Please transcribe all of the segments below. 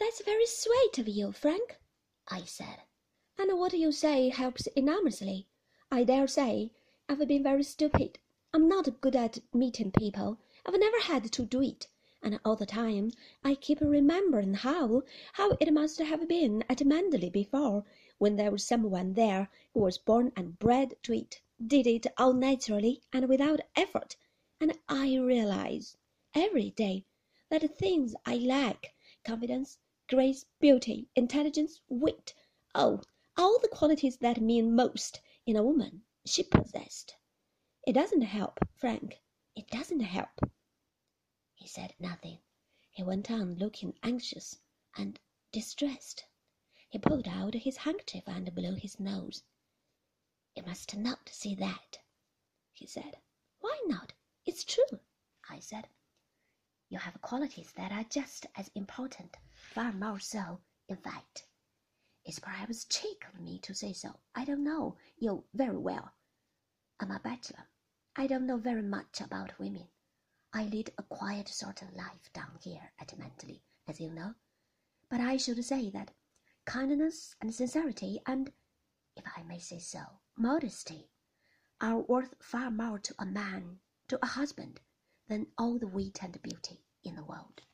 "That's very sweet of you, Frank," I said. "And what you say helps enormously. I dare say I've been very stupid. I'm not good at meeting people. I've never had to do it. And all the time I keep remembering how it must have been at Manderley before, when there was someone there who was born and bred to it, did it all naturally and without effort. And I realize every day that things I lack, confidence, grace, beauty, intelligence, wit, oh, all the qualities that mean most in a woman, she possessed. It doesn't help, Frank. It doesn't help." He said nothing. He went on looking anxious and distressed. He pulled out his handkerchief and blew his nose. "You must not see that," he said. "Why not? It's true," I said. "You have qualities that are just as important, far more so, in fact. It's perhaps cheek of me to say so. I don't know you very well. I'm a bachelor. I don't know very much about women. I lead a quiet sort of life down here at Manderley, as you know. But I should say that kindness and sincerity and, if I may say so, modesty are worth far more to a man, to a husband, than all the wit and beauty in the world."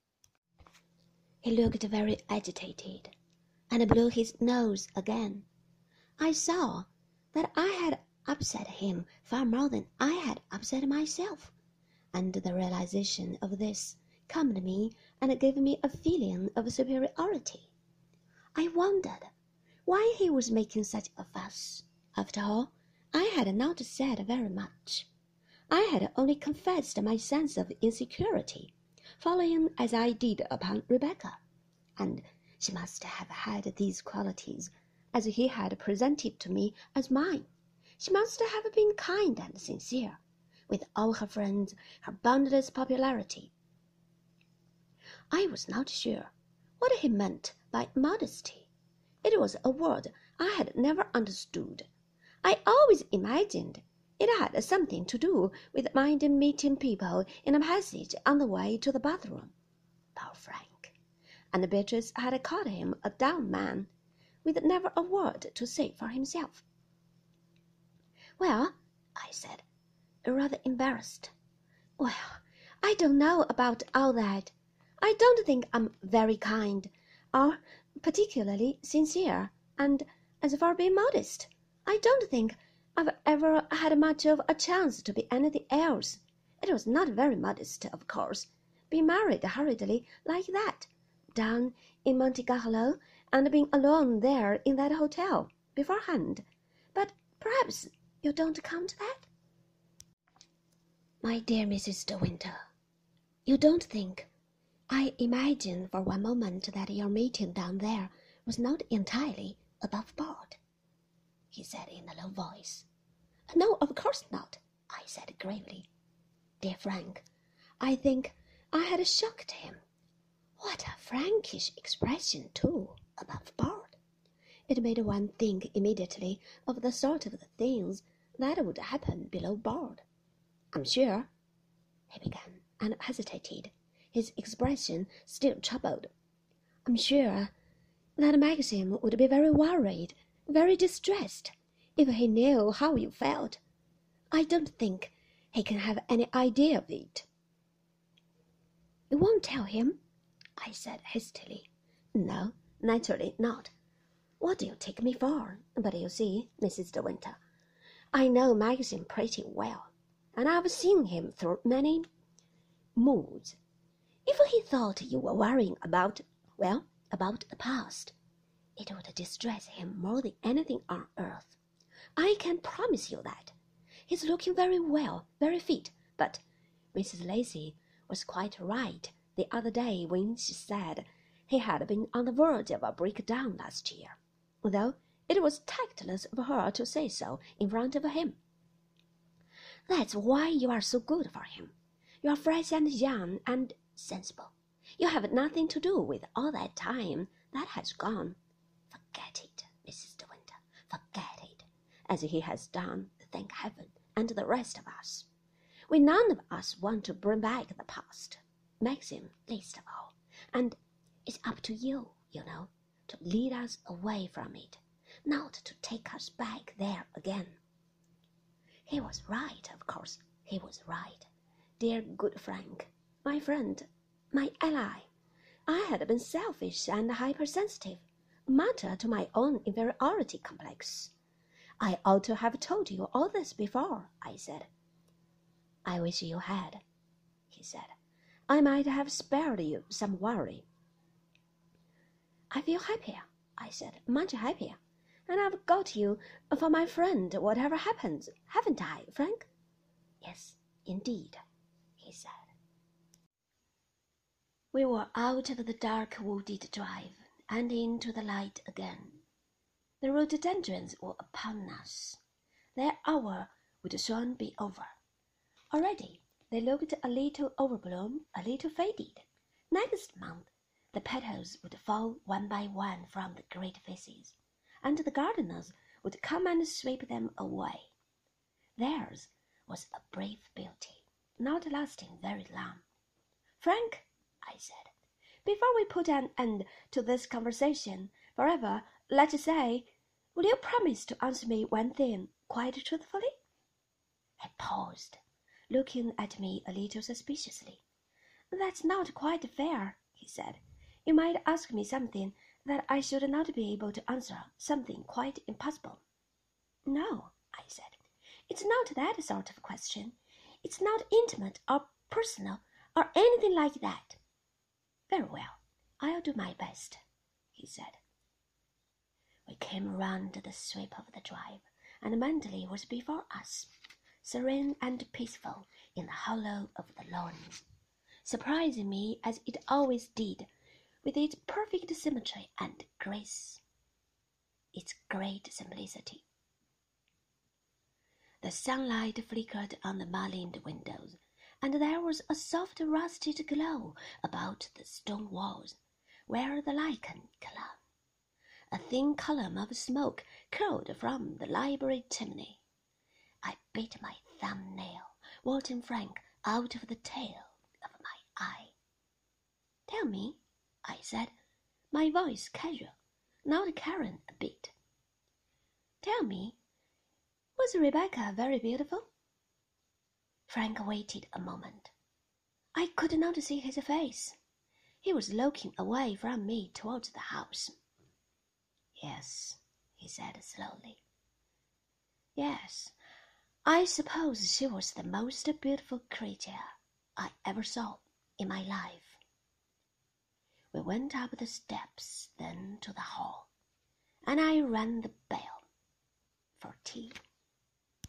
He looked very agitated and blew his nose again. I saw that I had upset him far more than I had upset myself, and the realization of this calmed me and gave me a feeling of superiority. I wondered why he was making such a fuss. After all, I had not said very much. I had only confessed my sense of insecurity, following as I did upon Rebecca, and she must have had these qualities as he had presented to me as mine. She must have been kind and sincere, with all her friends, her boundless popularity. I was not sure what he meant by modesty. It was a word I had never understood. I always imagined it had something to do with minding meeting people in a passage on the way to the bathroom. Poor Frank! And Beatrice had called him a down man, with never a word to say for himself. "Well," I said, rather embarrassed, "well, I don't know about all that. I don't think I'm very kind, or particularly sincere, and as for being modest, I don't think I've ever had much of a chance to be anything else. It was not very modest, of course, being married hurriedly like that, down in Monte Carlo, and being alone there in that hotel beforehand. But perhaps you don't count that?" "My dear Mrs. De Winter, you don't think I imagined for one moment that your meeting down there was not entirely above board," he said in a low voice. "No, of course not," I said gravely. Dear Frank, I think I had shocked him. What a Frankish expression, too, above board! It made one think immediately of the sort of things that would happen below board. "I'm sure," he began, and hesitated, his expression still troubled. "I'm sure that Maxim would be very worried, very distressed, if he knew how you felt. I don't think he can have any idea of it." "You won't tell him?" I said hastily. "No, naturally not. What do you take me for? But you see, Mrs. De Winter, I know Maxim pretty well, and I've seen him through many moods. If he thought you were worrying about the past, it would distress him more than anything on earth. I can promise you that. He's looking very well, very fit, but Mrs. Lacy was quite right the other day when she said he had been on the verge of a breakdown last year, though it was tactless of her to say so in front of him. That's why you are so good for him. You are fresh and young and sensible. You have nothing to do with all that time that has gone. Forget it, Mrs. De Winter, forget it, as he has done, thank heaven, and the rest of us. We none of us want to bring back the past, Maxim least of all, and It's up to you, you know, to lead us away from it, not to take us back there again. He was right, of course, he was right. Dear good Frank, my friend, my ally. I had been selfish and hypersensitive, matter to my own inferiority complex. I ought to have told you all this before, I said. I wish you had, he said. I might have spared you some worry. I feel happier, I said, much happier. And I've got you for my friend whatever happens, haven't I, Frank? Yes, indeed, he said. We were out of the dark wooded drive and into the light again. The rhododendrons were upon us. Their hour would soon be over. Already they looked a little overblown, a little faded. Next month the petals would fall one by one from the great faces, and the gardeners would come and sweep them away. Theirs was a brave beauty, not lasting very long. Frank, I said, before we put an end to this conversation forever, let's say, will you promise to answer me one thing quite truthfully? He paused, looking at me a little suspiciously. That's not quite fair, he said. You might ask me something that I should not be able to answer, something quite impossible. No, I said. It's not that sort of question. It's not intimate or personal or anything like that. Very well, I'll do my best, he said. We came round the sweep of the drive, and Manderley was before us, serene and peaceful in the hollow of the lawn, surprising me as it always did, with its perfect symmetry and grace, its great simplicity. The sunlight flickered on the mullioned windows, and there was a soft rusted glow about the stone walls, where the lichen clung. A thin column of smoke curled from the library chimney. I bit my thumbnail, watching Frank out of the tail of my eye. Tell me, I said, my voice casual, not caring a bit. Tell me, was Rebecca very beautiful? Frank waited a moment. I could not see his face. He was looking away from me towards the house. Yes, he said slowly. Yes, I suppose she was the most beautiful creature I ever saw in my life. We went up the steps, then to the hall, and I rang the bell for tea.